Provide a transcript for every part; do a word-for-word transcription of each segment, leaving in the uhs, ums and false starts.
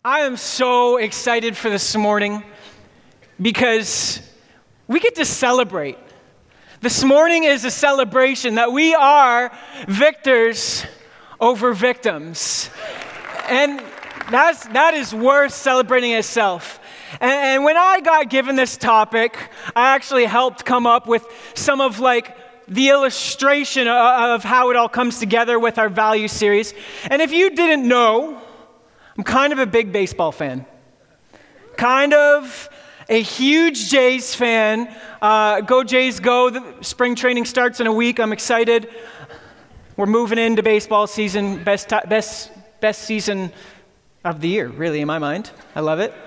I am so excited for this morning because we get to celebrate. This morning is a celebration that we are victors over victims. And that's, that is worth celebrating itself. And, and when I got given this topic, I actually helped come up with some of like the illustration of, of how it all comes together with our value series. And if you didn't know, I'm kind of a big baseball fan. Kind of a huge Jays fan. Uh, go Jays, go. The spring training starts in a week. I'm excited. We're moving into baseball season. Best, t- best, best season of the year, really, in my mind. I love it.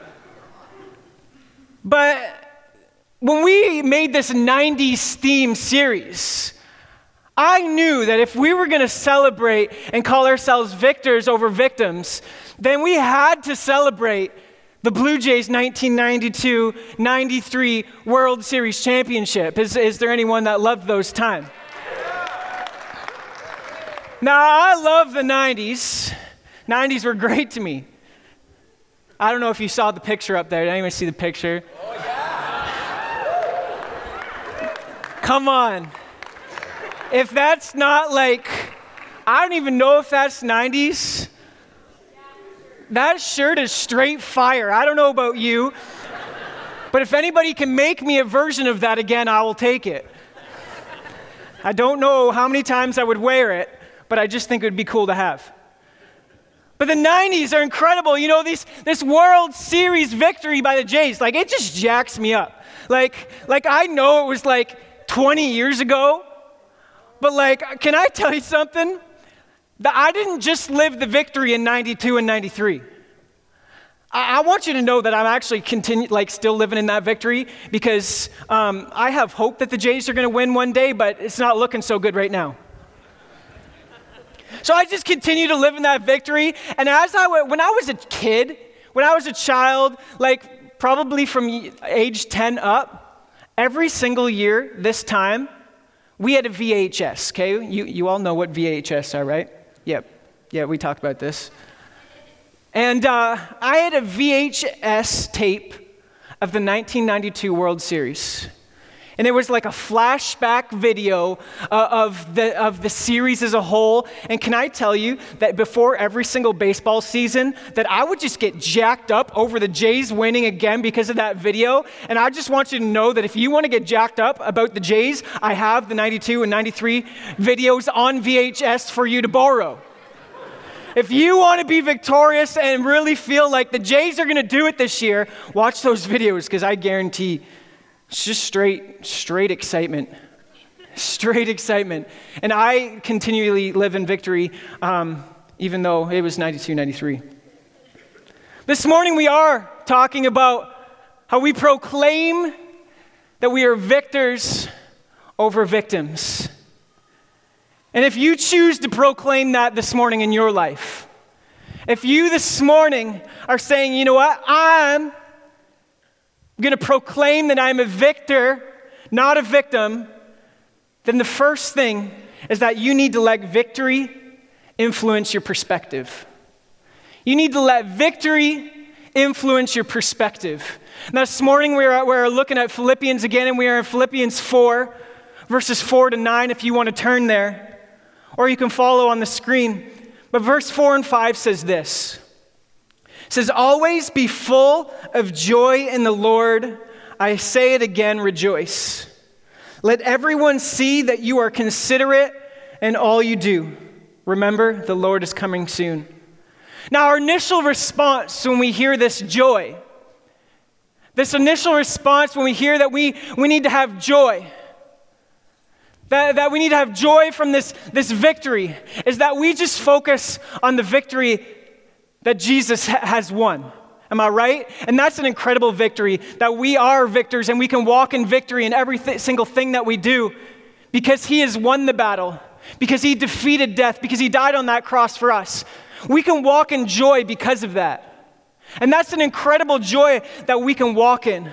But when we made this nineties theme series, I knew that if we were going to celebrate and call ourselves victors over victims, then we had to celebrate the Blue Jays nineteen ninety-two ninety-three World Series championship. Is, is there anyone that loved those times? Now, I love the nineties. nineties were great to me. I don't know if you saw the picture up there. Did anyone see the picture? Oh, yeah. Come on. If that's not like, I don't even know if that's nineties. That shirt is straight fire. I don't know about you, but if anybody can make me a version of that again, I will take it. I don't know how many times I would wear it, but I just think it would be cool to have. But the nineties are incredible. You know, these, this World Series victory by the Jays, like it just jacks me up. Like, like I know it was like twenty years ago, but like, can I tell you something? That I didn't just live the victory in ninety-two and ninety-three. I, I want you to know that I'm actually continue, like still living in that victory because um, I have hope that the Jays are going to win one day, but it's not looking so good right now. So I just continue to live in that victory. And as I when I was a kid, when I was a child, like probably from age ten up, every single year this time, we had a V H S, okay? You you all know what V H S are, right? Yep. Yeah, we talked about this. And uh, I had a V H S tape of the nineteen ninety-two World Series. And it was like a flashback video uh, of the of the series as a whole. And can I tell you that before every single baseball season, that I would just get jacked up over the Jays winning again because of that video. And I just want you to know that if you want to get jacked up about the Jays, I have the ninety-two and ninety-three videos on V H S for you to borrow. If you want to be victorious and really feel like the Jays are going to do it this year, watch those videos because I guarantee it's just straight, straight excitement. Straight excitement. And I continually live in victory, um, even though it was ninety-two ninety-three. This morning we are talking about how we proclaim that we are victors over victims. And if you choose to proclaim that this morning in your life, if you this morning are saying, you know what, I'm I'm going to proclaim that I'm a victor, not a victim, then the first thing is that you need to let victory influence your perspective. You need to let victory influence your perspective. Now, this morning we're, we're looking at Philippians again, and we are in Philippians four, verses four to nine, if you want to turn there, or you can follow on the screen. But verse four and five says this. It says, always be full of joy in the Lord. I say it again, rejoice. Let everyone see that you are considerate in all you do. Remember, the Lord is coming soon. Now, our initial response when we hear this joy, this initial response when we hear that we, we need to have joy, that, that we need to have joy from this, this victory, is that we just focus on the victory that Jesus ha- has won. Am I right? And that's an incredible victory, that we are victors and we can walk in victory in every th- single thing that we do because he has won the battle, because he defeated death, because he died on that cross for us. We can walk in joy because of that. And that's an incredible joy that we can walk in.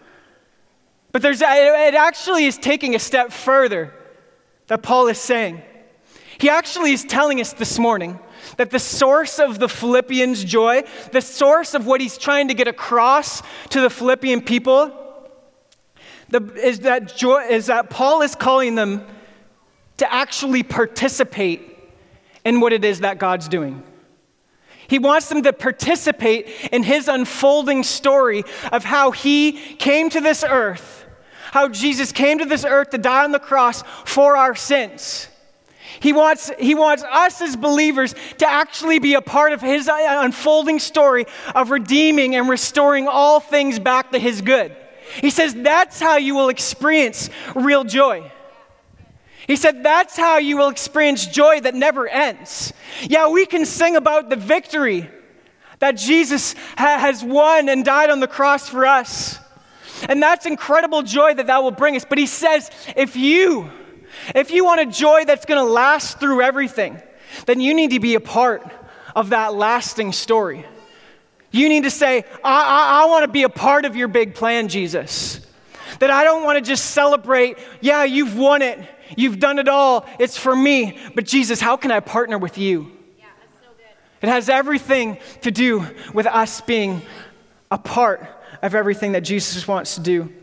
But there's it actually is taking a step further that Paul is saying. He actually is telling us this morning that the source of the Philippians' joy, the source of what he's trying to get across to the Philippian people, the, is that joy is that Paul is calling them to actually participate in what it is that God's doing. He wants them to participate in his unfolding story of how he came to this earth, how Jesus came to this earth to die on the cross for our sins. He wants, he wants us as believers to actually be a part of his unfolding story of redeeming and restoring all things back to his good. He says that's how you will experience real joy. He said that's how you will experience joy that never ends. Yeah, we can sing about the victory that Jesus ha- has won and died on the cross for us. And that's incredible joy that that will bring us. But he says, if you, if you want a joy that's going to last through everything, then you need to be a part of that lasting story. You need to say, I, I, I want to be a part of your big plan, Jesus. That I don't want to just celebrate, yeah, you've won it. You've done it all. It's for me. But Jesus, how can I partner with you? Yeah, that's so good. It has everything to do with us being a part of everything that Jesus wants to do.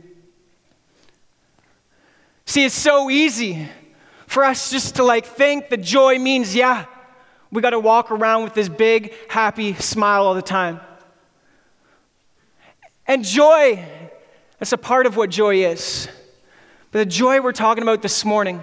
See, it's so easy for us just to like think that joy means, yeah, we got to walk around with this big, happy smile all the time. And joy, that's a part of what joy is. But the joy we're talking about this morning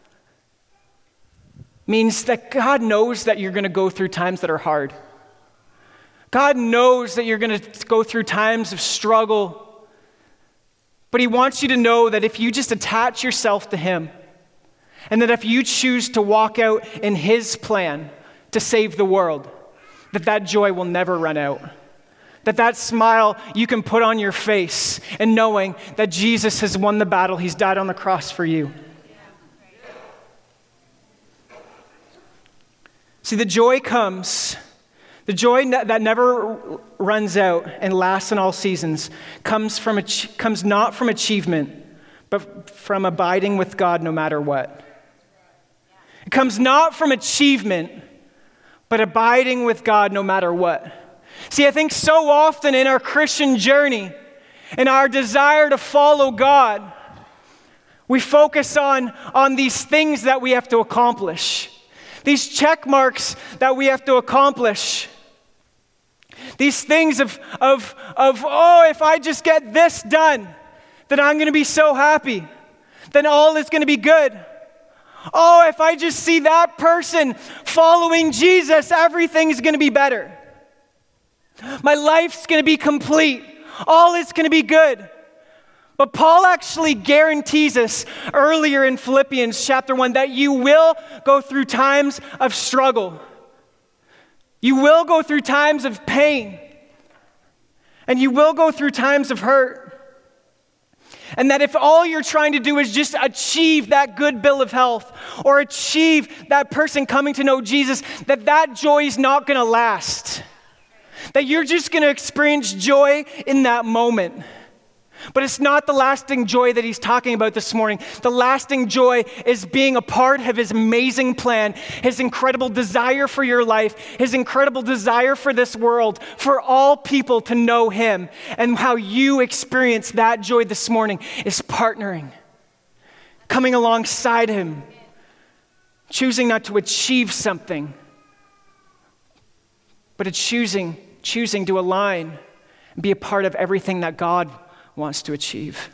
means that God knows that you're going to go through times that are hard. God knows that you're going to go through times of struggle. But he wants you to know that if you just attach yourself to him, and that if you choose to walk out in his plan to save the world, that that joy will never run out. That that smile you can put on your face and knowing that Jesus has won the battle. He's died on the cross for you. See, the joy comes, the joy that never runs out and lasts in all seasons comes from comes not from achievement, but from abiding with God no matter what. It comes not from achievement, but abiding with God no matter what. See, I think so often in our Christian journey, in our desire to follow God, we focus on, on these things that we have to accomplish, these check marks that we have to accomplish, these things of, of, of oh, if I just get this done, then I'm going to be so happy, then all is going to be good. Oh, if I just see that person following Jesus, everything's going to be better. My life's going to be complete. All is going to be good. But Paul actually guarantees us earlier in Philippians chapter one that you will go through times of struggle. You will go through times of pain. And you will go through times of hurt. And that if all you're trying to do is just achieve that good bill of health or achieve that person coming to know Jesus, that that joy is not going to last. That you're just going to experience joy in that moment. But it's not the lasting joy that he's talking about this morning. The lasting joy is being a part of his amazing plan, his incredible desire for your life, his incredible desire for this world, for all people to know him. And how you experience that joy this morning is partnering, coming alongside him, choosing not to achieve something, but it's choosing choosing to align and be a part of everything that God wants to achieve.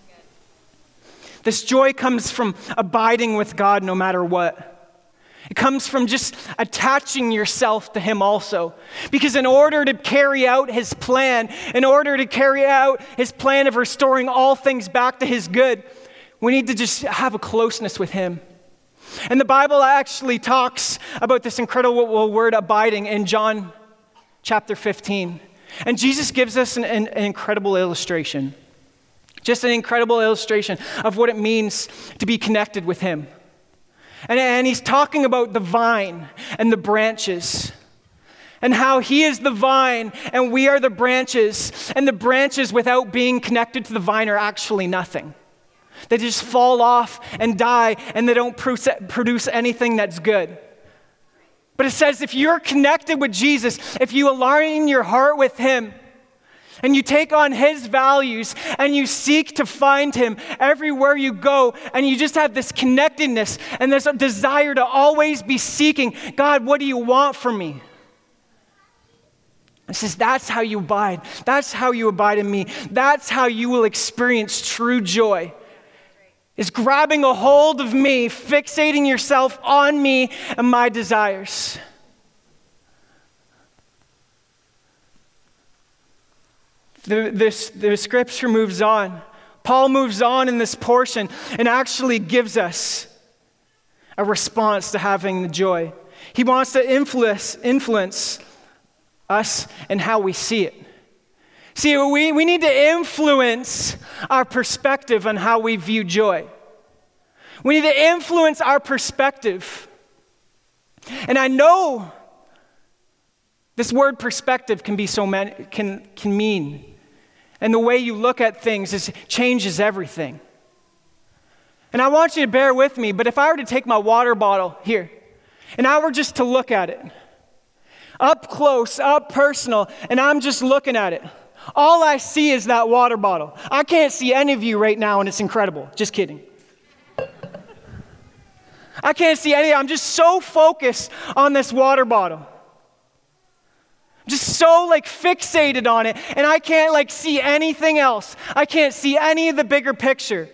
This joy comes from abiding with God no matter what. It comes from just attaching yourself to him also. Because in order to carry out his plan, in order to carry out his plan of restoring all things back to his good, we need to just have a closeness with him. And the Bible actually talks about this incredible word abiding in John chapter fifteen. And Jesus gives us an, an, an incredible illustration. Just an incredible illustration of what it means to be connected with him. And, and he's talking about the vine and the branches. And how he is the vine and we are the branches. And the branches without being connected to the vine are actually nothing. They just fall off and die and they don't produce anything that's good. But it says if you're connected with Jesus, if you align your heart with him, and you take on his values, and you seek to find him everywhere you go, and you just have this connectedness, and there's a desire to always be seeking, God, what do you want from me? It says that's how you abide. That's how you abide in me. That's how you will experience true joy. Is grabbing a hold of me, fixating yourself on me and my desires. The, this, the scripture moves on. Paul moves on in this portion and actually gives us a response to having the joy. He wants to influence, influence us and how we see it. See, we, we need to influence our perspective on how we view joy. We need to influence our perspective. And I know this word perspective can be so many, can, can mean. And the way you look at things is, changes everything. And I want you to bear with me, but if I were to take my water bottle here, and I were just to look at it, up close, up personal, and I'm just looking at it, all I see is that water bottle. I can't see any of you right now, and it's incredible. Just kidding. I can't see any, I'm just so focused on this water bottle. Just so like fixated on it, and I can't like see anything else. I can't see any of the bigger picture.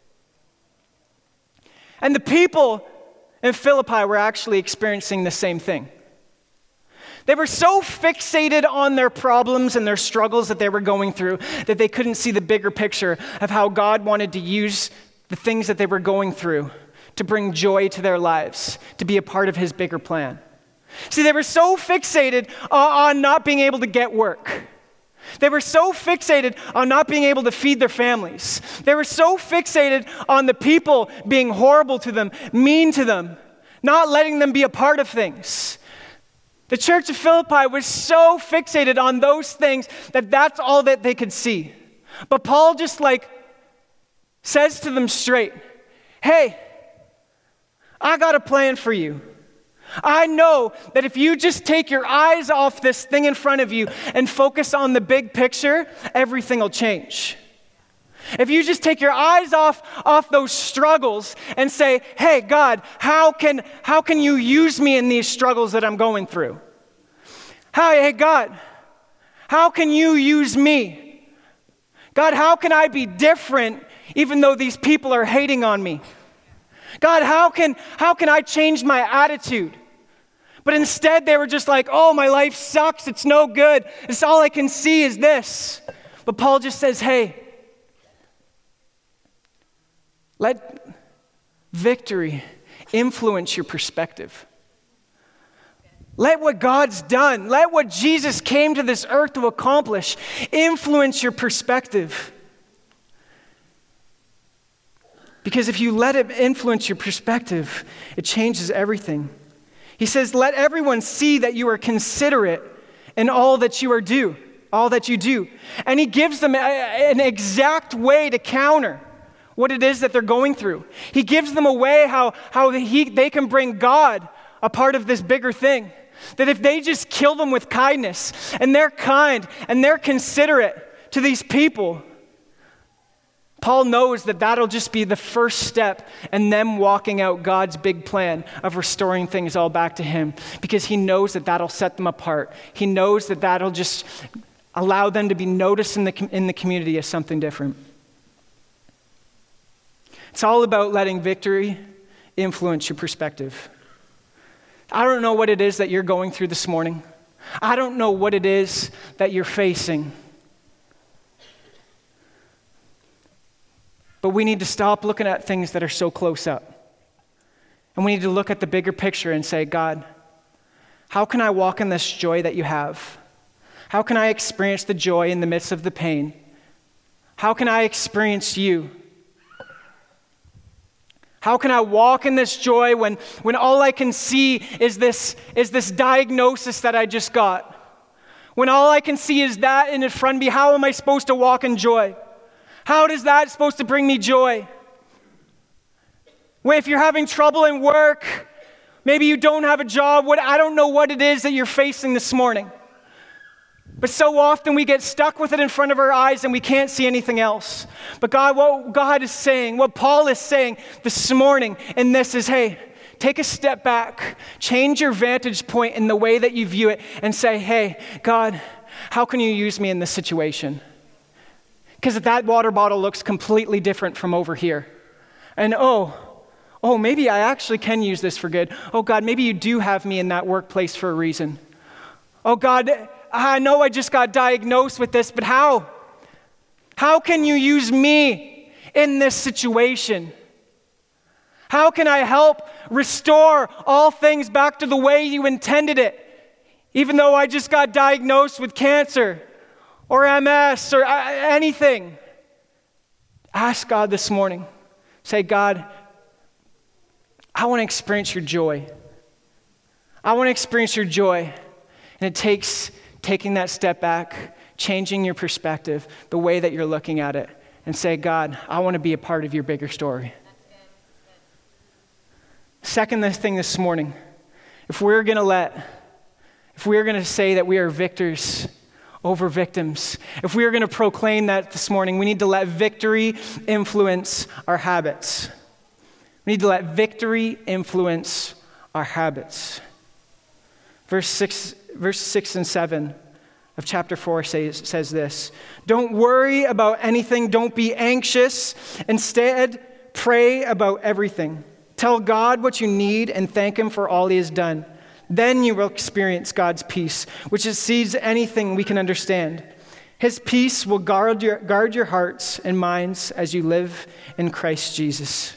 And the people in Philippi were actually experiencing the same thing. They were so fixated on their problems and their struggles that they were going through that they couldn't see the bigger picture of how God wanted to use the things that they were going through to bring joy to their lives, to be a part of his bigger plan. See, they were so fixated on not being able to get work. They were so fixated on not being able to feed their families. They were so fixated on the people being horrible to them, mean to them, not letting them be a part of things. The church of Philippi was so fixated on those things that that's all that they could see. But Paul just like says to them straight, hey, I got a plan for you. I know that if you just take your eyes off this thing in front of you and focus on the big picture, everything will change. If you just take your eyes off, off those struggles and say, hey, God, how can, how can you use me in these struggles that I'm going through? How, hey, God, how can you use me? God, how can I be different even though these people are hating on me? God, how can, how can I change my attitude? But instead they were just like, oh, my life sucks. It's no good. It's all I can see is this. But Paul just says, hey, let victory influence your perspective. Let what God's done, let what Jesus came to this earth to accomplish, influence your perspective. Because if you let it influence your perspective, it changes everything. He says, let everyone see that you are considerate in all that you are do, all that you do. And he gives them a, an exact way to counter what it is that they're going through. He gives them a way how, how he, they can bring God a part of this bigger thing. That if they just kill them with kindness, and they're kind, and they're considerate to these people, Paul knows that that'll just be the first step in them walking out God's big plan of restoring things all back to him, because he knows that that'll set them apart. He knows that that'll just allow them to be noticed in the, in the community as something different. It's all about letting victory influence your perspective. I don't know what it is that you're going through this morning. I don't know what it is that you're facing. But we need to stop looking at things that are so close up. And we need to look at the bigger picture and say, God, how can I walk in this joy that you have? How can I experience the joy in the midst of the pain? How can I experience you? How can I walk in this joy when, when all I can see is this, is this diagnosis that I just got? When all I can see is that in front of me, how am I supposed to walk in joy? How is that supposed to bring me joy? When if you're having trouble in work, Maybe you don't have a job. What, I don't know what it is that you're facing this morning. But so often we get stuck with it in front of our eyes and we can't see anything else. But God, what God is saying, what Paul is saying this morning in this is, hey, take a step back, change your vantage point in the way that you view it, and say, hey, God, how can you use me in this situation? Because that water bottle looks completely different from over here. And oh, oh, maybe I actually can use this for good. Oh God, maybe you do have me in that workplace for a reason. Oh God, I know I just got diagnosed with this, but how? How can you use me in this situation? How can I help restore all things back to the way you intended it? Even though I just got diagnosed with cancer or M S or anything. Ask God this morning. Say, God, I want to experience your joy. I want to experience your joy. And it takes taking that step back, changing your perspective, the way that you're looking at it, and say, God, I want to be a part of your bigger story. Second thing this morning, if we're going to let, if we're going to say that we are victors over victims, if we are going to proclaim that this morning, we need to let victory influence our habits. We need to let victory influence our habits. Verse six, verse six and seven of chapter four says, says this: don't worry about anything, don't be anxious. Instead, pray about everything. Tell God what you need and thank him for all he has done. Then you will experience God's peace, which exceeds anything we can understand. His peace will guard your, guard your hearts and minds as you live in Christ Jesus.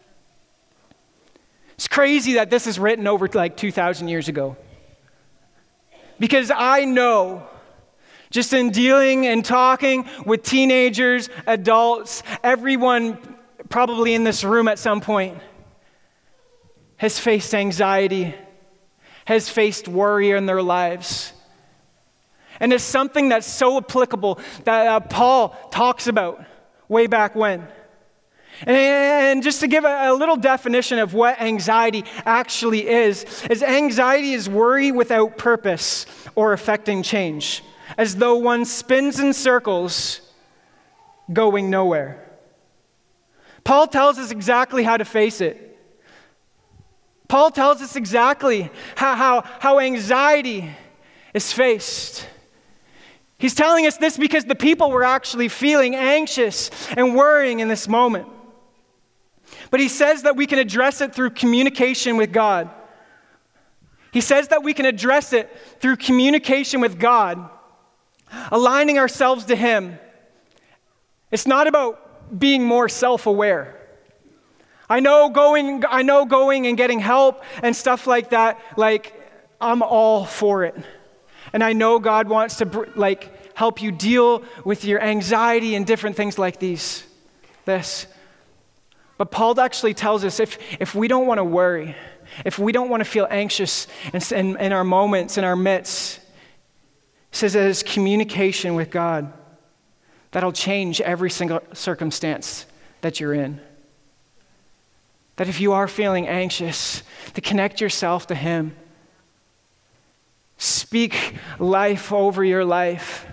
It's crazy that this is written over like two thousand years ago. Because I know, just in dealing and talking with teenagers, adults, everyone probably in this room at some point has faced anxiety, has faced worry in their lives. And it's something that's so applicable that uh, Paul talks about way back when. And, and just to give a, a little definition of what anxiety actually is, is anxiety is worry without purpose or affecting change, as though one spins in circles going nowhere. Paul tells us exactly how to face it. Paul tells us exactly how, how, how anxiety is faced. He's telling us this because the people were actually feeling anxious and worrying in this moment. But he says that we can address it through communication with God. He says that we can address it through communication with God, aligning ourselves to him. It's not about being more self-aware. I know going, I know going and getting help and stuff like that, like, I'm all for it. And I know God wants to, like, help you deal with your anxiety and different things like these, this. But Paul actually tells us if, if we don't want to worry, if we don't want to feel anxious in, in, in our moments, in our midst, he says that it's communication with God that'll change every single circumstance that you're in. That if you are feeling anxious, to connect yourself to him. Speak life over your life.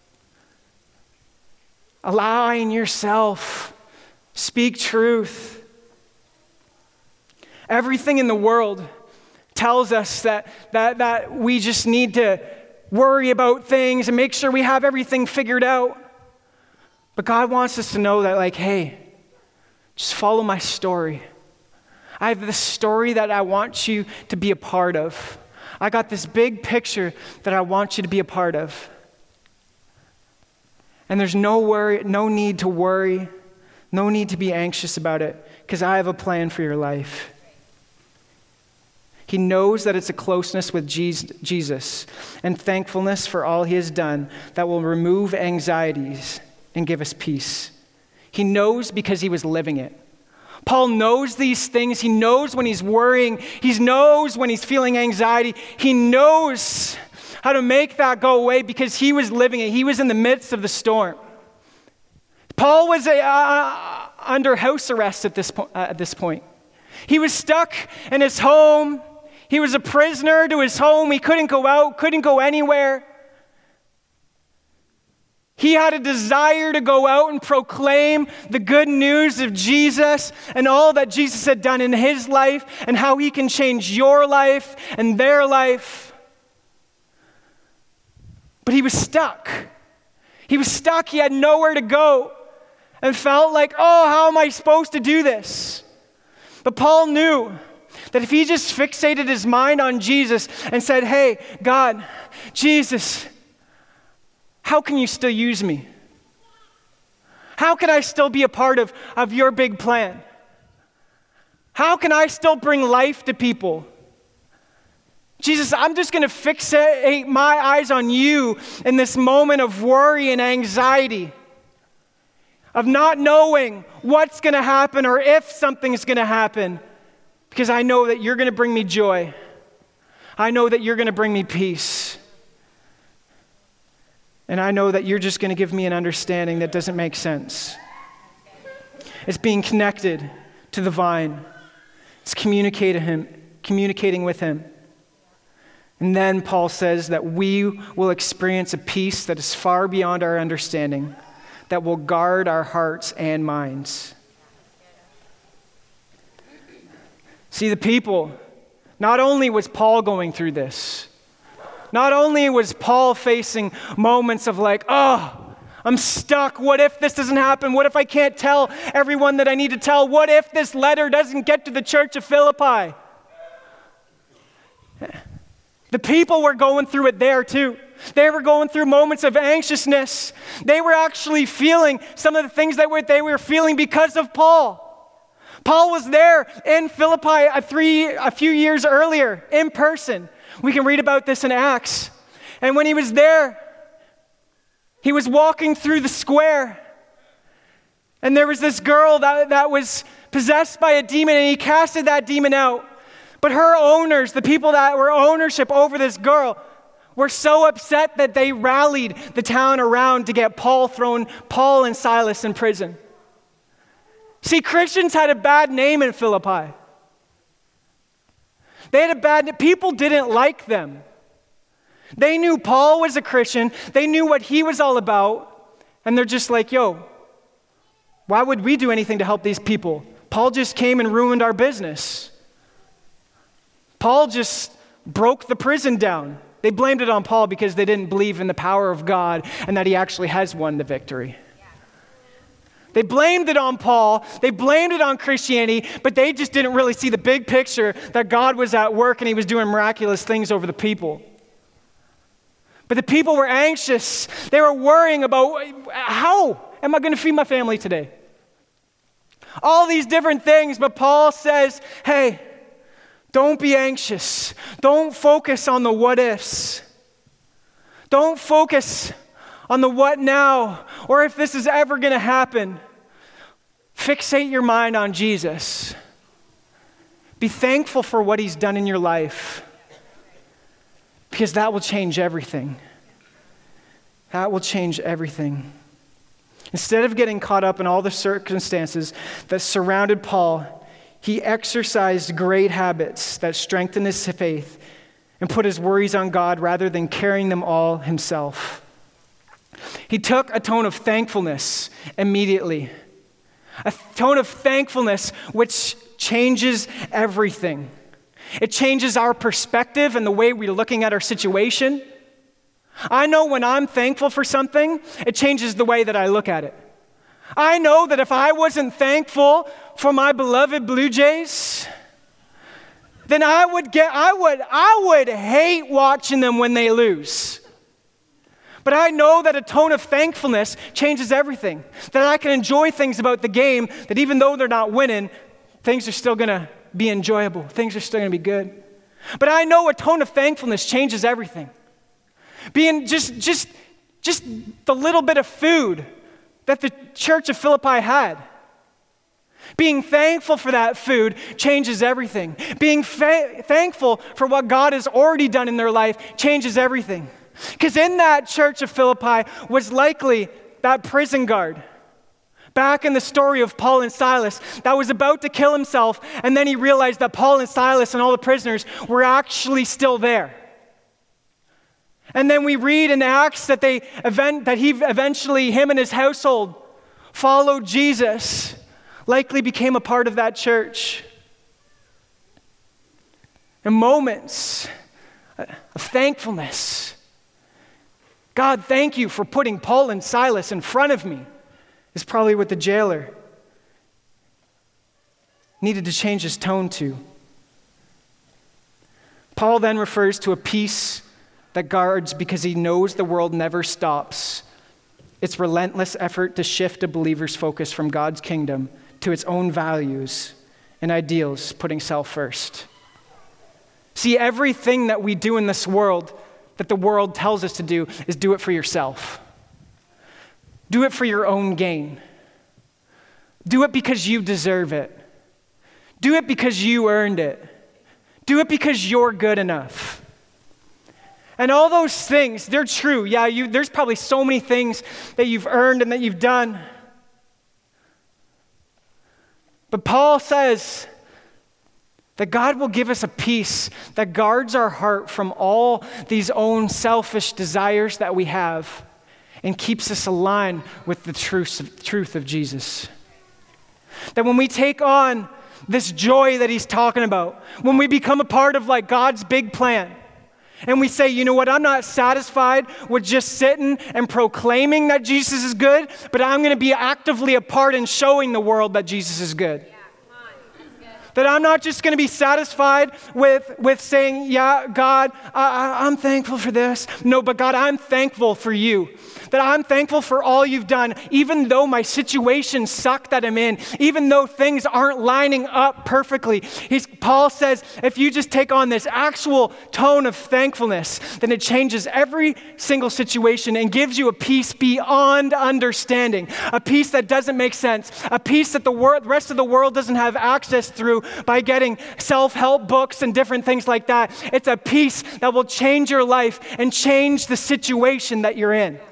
Align yourself. Speak truth. Everything in the world tells us that, that, that we just need to worry about things and make sure we have everything figured out. But God wants us to know that, like, hey, just follow my story. I have this story that I want you to be a part of. I got this big picture that I want you to be a part of. And there's no worry, no need to worry, no need to be anxious about it, because I have a plan for your life. He knows that it's a closeness with Jesus and thankfulness for all he has done that will remove anxieties and give us peace. He knows because he was living it. Paul knows these things. He knows when he's worrying. He knows when he's feeling anxiety. He knows how to make that go away because he was living it. He was in the midst of the storm. Paul was a, uh, under house arrest at this, po- uh, at this point. He was stuck in his home. He was a prisoner to his home. He couldn't go out, couldn't go anywhere. He had a desire to go out and proclaim the good news of Jesus and all that Jesus had done in his life and how he can change your life and their life. But he was stuck. He was stuck. He had nowhere to go and felt like, oh, how am I supposed to do this? But Paul knew that if he just fixated his mind on Jesus and said, hey, God, Jesus, how can you still use me? How can I still be a part of, of your big plan? How can I still bring life to people? Jesus, I'm just going to fixate my eyes on you in this moment of worry and anxiety, of not knowing what's going to happen or if something's going to happen, because I know that you're going to bring me joy. I know that you're going to bring me peace. And I know that you're just going to give me an understanding that doesn't make sense. It's being connected to the vine. It's communicating him, communicating with him. And then Paul says that we will experience a peace that is far beyond our understanding, that will guard our hearts and minds. See, the people, not only was Paul going through this, not only was Paul facing moments of like, oh, I'm stuck. What if this doesn't happen? What if I can't tell everyone that I need to tell? What if this letter doesn't get to the church of Philippi? The people were going through it there too. They were going through moments of anxiousness. They were actually feeling some of the things that were, they were feeling because of Paul. Paul was there in Philippi a, three, a few years earlier in person. We can read about this in Acts. And when he was there, he was walking through the square. And there was this girl that, that was possessed by a demon, and he casted that demon out. But her owners, the people that were ownership over this girl, were so upset that they rallied the town around to get Paul thrown, Paul and Silas in prison. See, Christians had a bad name in Philippi. They had a bad, people didn't like them. They knew Paul was a Christian. They knew what he was all about. And they're just like, yo, why would we do anything to help these people? Paul just came and ruined our business. Paul just broke the prison down. They blamed it on Paul because they didn't believe in the power of God and that he actually has won the victory. They blamed it on Paul, they blamed it on Christianity, but they just didn't really see the big picture that God was at work and he was doing miraculous things over the people. But the people were anxious. They were worrying about, how am I going to feed my family today? All these different things, but Paul says, hey, don't be anxious. Don't focus on the what ifs. Don't focus on the what now, or if this is ever going to happen. Fixate your mind on Jesus. Be thankful for what he's done in your life, because that will change everything. That will change everything. Instead of getting caught up in all the circumstances that surrounded Paul, he exercised great habits that strengthened his faith and put his worries on God rather than carrying them all himself. He took a tone of thankfulness immediately. A tone of thankfulness which changes everything. It changes our perspective and the way we're looking at our situation. I know when I'm thankful for something, it changes the way that I look at it. I know that if I wasn't thankful for my beloved Blue Jays, then I would get I would I would hate watching them when they lose. But I know that a tone of thankfulness changes everything. That I can enjoy things about the game, that even though they're not winning, things are still going to be enjoyable. Things are still going to be good. But I know a tone of thankfulness changes everything. Being just, just, just the little bit of food that the church of Philippi had. Being thankful for that food changes everything. Being fa- thankful for what God has already done in their life changes everything. Because in that church of Philippi was likely that prison guard. Back in the story of Paul and Silas, that was about to kill himself, and then he realized that Paul and Silas and all the prisoners were actually still there. And then we read in Acts that they event that he eventually, him and his household, followed Jesus, likely became a part of that church. And moments of thankfulness. God, thank you for putting Paul and Silas in front of me, is probably what the jailer needed to change his tone to. Paul then refers to a peace that guards because he knows the world never stops. Its relentless effort to shift a believer's focus from God's kingdom to its own values and ideals, putting self first. See, everything that we do in this world that the world tells us to do is do it for yourself. Do it for your own gain. Do it because you deserve it. Do it because you earned it. Do it because you're good enough. And all those things, they're true. Yeah, you, there's probably so many things that you've earned and that you've done. But Paul says that God will give us a peace that guards our heart from all these own selfish desires that we have and keeps us aligned with the truth of, truth of Jesus. That when we take on this joy that he's talking about, when we become a part of like God's big plan, and we say, you know what, I'm not satisfied with just sitting and proclaiming that Jesus is good, but I'm going to be actively a part in showing the world that Jesus is good. Yeah, come on. That's good. That I'm not just going to be satisfied with, with saying, yeah, God, I, I'm thankful for this. No, but God, I'm thankful for you. That I'm thankful for all you've done, even though my situation suck that I'm in, even though things aren't lining up perfectly. He's, Paul says, if you just take on this actual tone of thankfulness, then it changes every single situation and gives you a peace beyond understanding, a peace that doesn't make sense, a peace that the wor- rest of the world doesn't have access through by getting self-help books and different things like that. It's a peace that will change your life and change the situation that you're in.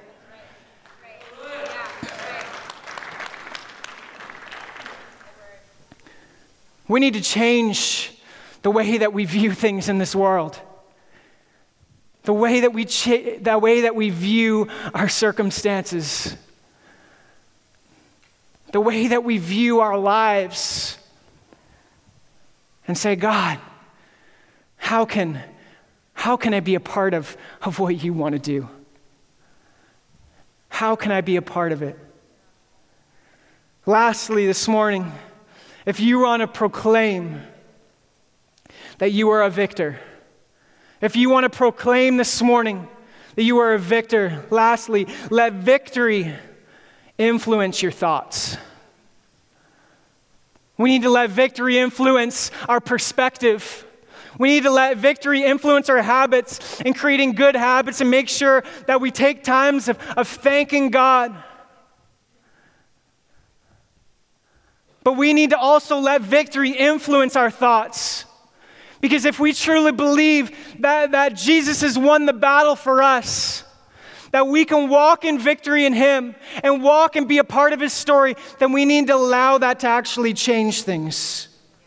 We need to change the way that we view things in this world. The way that we cha- the way that we view our circumstances. The way that we view our lives. And say, God, how can, how can I be a part of, of what you want to do? How can I be a part of it? Lastly, this morning, if you want to proclaim that you are a victor, if you want to proclaim this morning that you are a victor, lastly, let victory influence your thoughts. We need to let victory influence our perspective. We need to let victory influence our habits and creating good habits and make sure that we take times of, of thanking God. But we need to also let victory influence our thoughts. Because if we truly believe that, that Jesus has won the battle for us, that we can walk in victory in him and walk and be a part of his story, then we need to allow that to actually change things.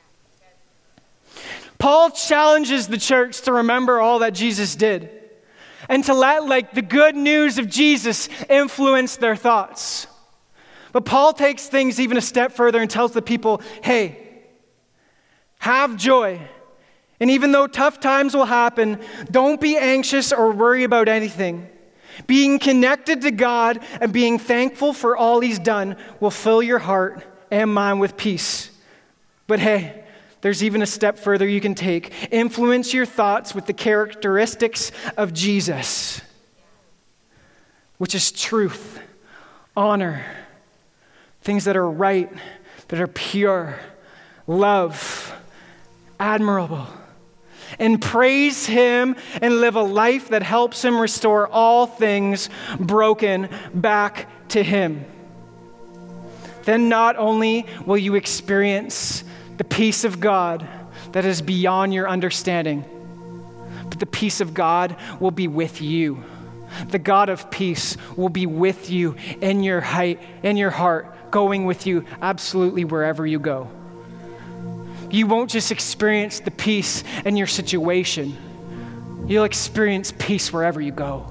Paul challenges the church to remember all that Jesus did and to let like the good news of Jesus influence their thoughts. But Paul takes things even a step further and tells the people, hey, have joy. And even though tough times will happen, don't be anxious or worry about anything. Being connected to God and being thankful for all he's done will fill your heart and mind with peace. But hey, there's even a step further you can take. Influence your thoughts with the characteristics of Jesus, which is truth, honor, things that are right, that are pure, love, admirable. And praise him and live a life that helps him restore all things broken back to him. Then not only will you experience the peace of God that is beyond your understanding, but the peace of God will be with you. the God of peace will be with you in your height, in your heart, going with you absolutely wherever you go. You won't just experience the peace in your situation. You'll experience peace wherever you go.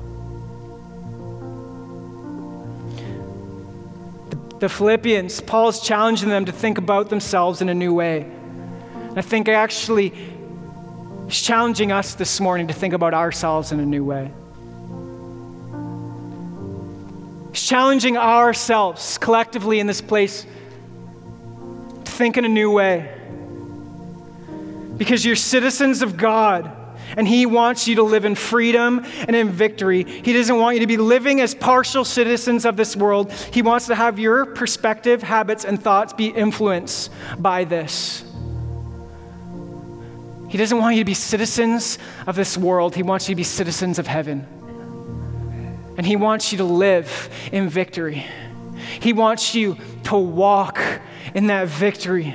The, the Philippians, Paul's challenging them to think about themselves in a new way. And I think actually he's challenging us this morning to think about ourselves in a new way. He's challenging ourselves collectively in this place to think in a new way. Because you're citizens of God, and he wants you to live in freedom and in victory. He doesn't want you to be living as partial citizens of this world. He wants to have your perspective, habits, and thoughts be influenced by this. He doesn't want you to be citizens of this world. He wants you to be citizens of heaven. And he wants you to live in victory. He wants you to walk in that victory.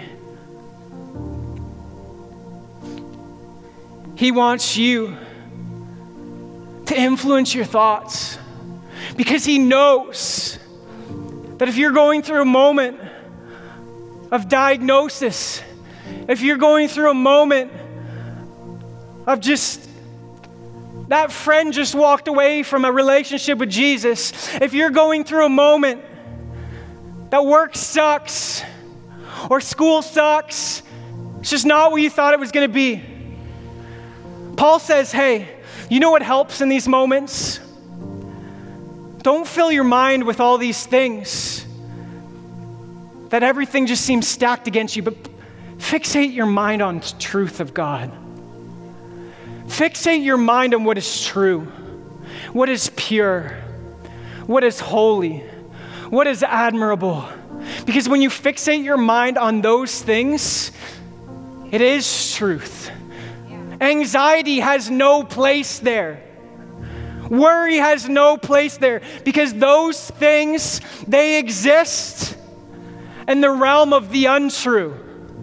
He wants you to influence your thoughts because he knows that if you're going through a moment of diagnosis, if you're going through a moment of just that friend just walked away from a relationship with Jesus, if you're going through a moment that work sucks or school sucks, it's just not what you thought it was going to be. Paul says, hey, you know what helps in these moments? Don't fill your mind with all these things that everything just seems stacked against you, but fixate your mind on the truth of God. Fixate your mind on what is true, what is pure, what is holy, what is admirable. Because when you fixate your mind on those things, it is truth. Anxiety has no place there. Worry has no place there because those things, they exist in the realm of the untrue.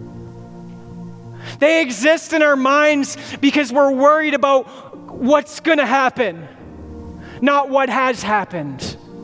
They exist in our minds because we're worried about what's going to happen, not what has happened.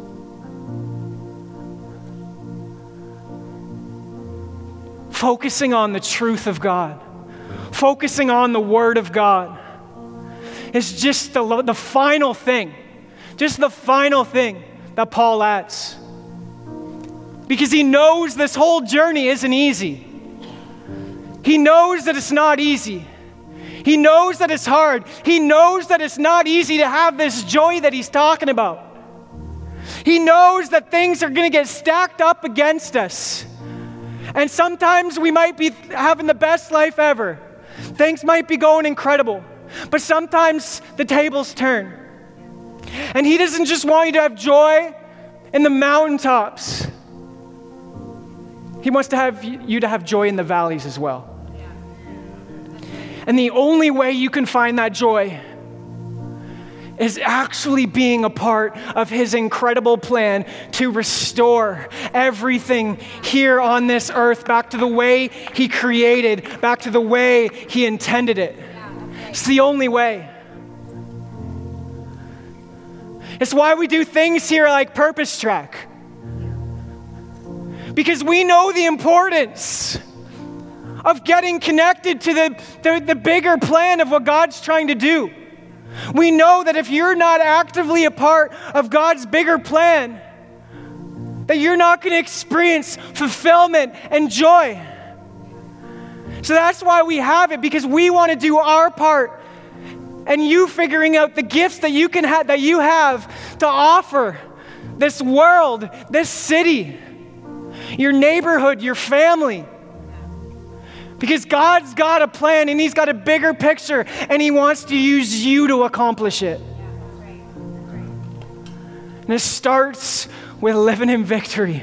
Focusing on the truth of God, focusing on the Word of God is just the, the final thing, just the final thing that Paul adds. Because he knows this whole journey isn't easy. He knows that it's not easy. He knows that it's hard. He knows that it's not easy to have this joy that he's talking about. He knows that things are going to get stacked up against us. And sometimes we might be having the best life ever. Things might be going incredible. But sometimes the tables turn. And he doesn't just want you to have joy in the mountaintops. He wants to have you to have joy in the valleys as well. And the only way you can find that joy is actually being a part of his incredible plan to restore everything here on this earth back to the way he created, back to the way he intended it. It's the only way. It's why we do things here like Purpose Track. Because we know the importance of getting connected to the, the, the bigger plan of what God's trying to do. We know that if you're not actively a part of God's bigger plan, that you're not going to experience fulfillment and joy. So that's why we have it, because we want to do our part. And you figuring out the gifts that you can have, that you have to offer this world, this city, your neighborhood, your family. Because God's got a plan and he's got a bigger picture and he wants to use you to accomplish it. Yeah, that's right. That's right. And it starts with living in victory.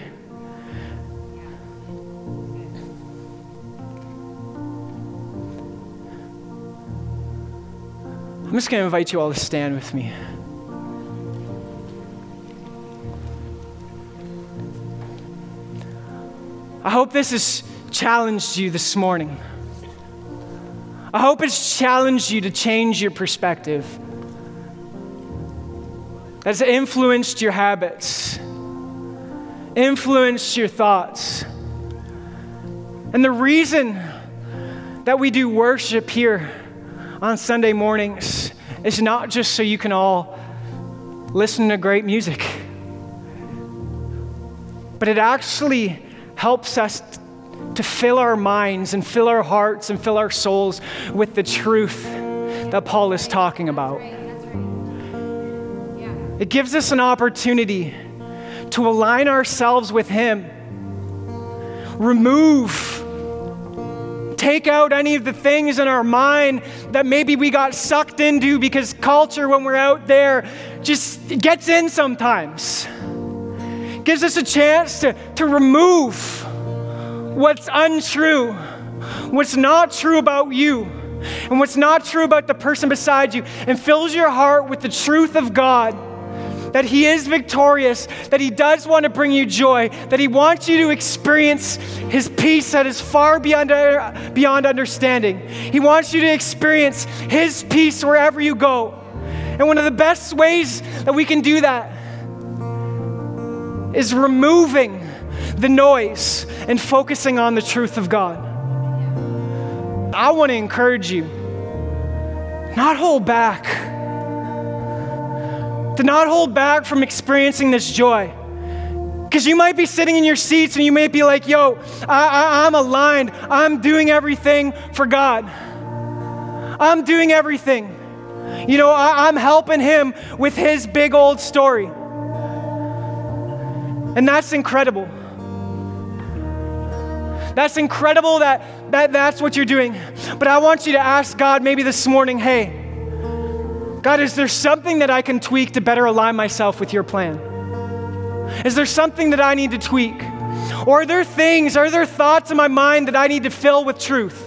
I'm just going to invite you all to stand with me. I hope this has challenged you this morning. I hope it's challenged you to change your perspective. that's influenced your habits, influenced your thoughts. And the reason that we do worship here on Sunday mornings is not just so you can all listen to great music, but it actually helps us to fill our minds and fill our hearts and fill our souls with the truth that Paul is talking about. It gives us an opportunity to align ourselves with Him, remove, take out any of the things in our mind that maybe we got sucked into because culture, when we're out there, just gets in sometimes. Gives us a chance to, to remove what's untrue, what's not true about you, and what's not true about the person beside you, and fills your heart with the truth of God, that He is victorious, that He does want to bring you joy, that He wants you to experience His peace that is far beyond, beyond understanding. He wants you to experience His peace wherever you go. And one of the best ways that we can do that is removing the noise and focusing on the truth of God. I want to encourage you, not hold back. To not hold back from experiencing this joy. Because you might be sitting in your seats and you may be like, yo, I, I, I'm aligned. I'm doing everything for God. I'm doing everything. You know, I, I'm helping Him with His big old story. And that's incredible. That's incredible that, that that's what you're doing. But I want you to ask God maybe this morning, hey, God, is there something that I can tweak to better align myself with your plan? Is there something that I need to tweak? Or are there things, are there thoughts in my mind that I need to fill with truth?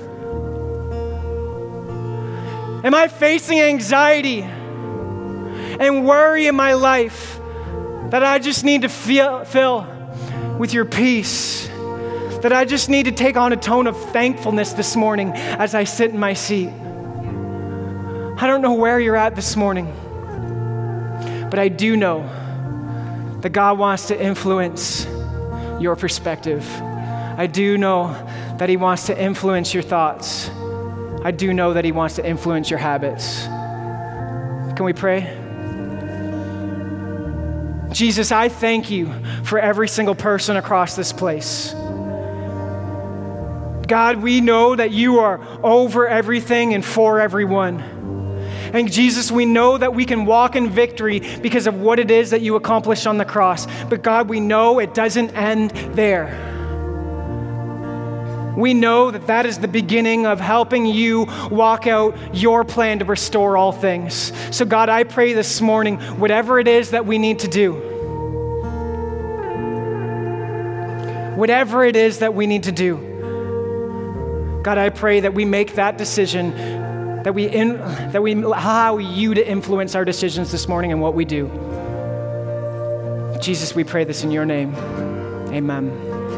Am I facing anxiety and worry in my life that I just need to feel, fill with your peace? That I just need to take on a tone of thankfulness this morning as I sit in my seat? I don't know where you're at this morning, but I do know that God wants to influence your perspective. I do know that He wants to influence your thoughts. I do know that He wants to influence your habits. Can we pray? Jesus, I thank you for every single person across this place. God, we know that you are over everything and for everyone. And Jesus, we know that we can walk in victory because of what it is that you accomplished on the cross. But God, we know it doesn't end there. We know that that is the beginning of helping you walk out your plan to restore all things. So God, I pray this morning, whatever it is that we need to do, whatever it is that we need to do, God, I pray that we make that decision, that we in, that we allow you to influence our decisions this morning and what we do. Jesus, we pray this in your name. Amen.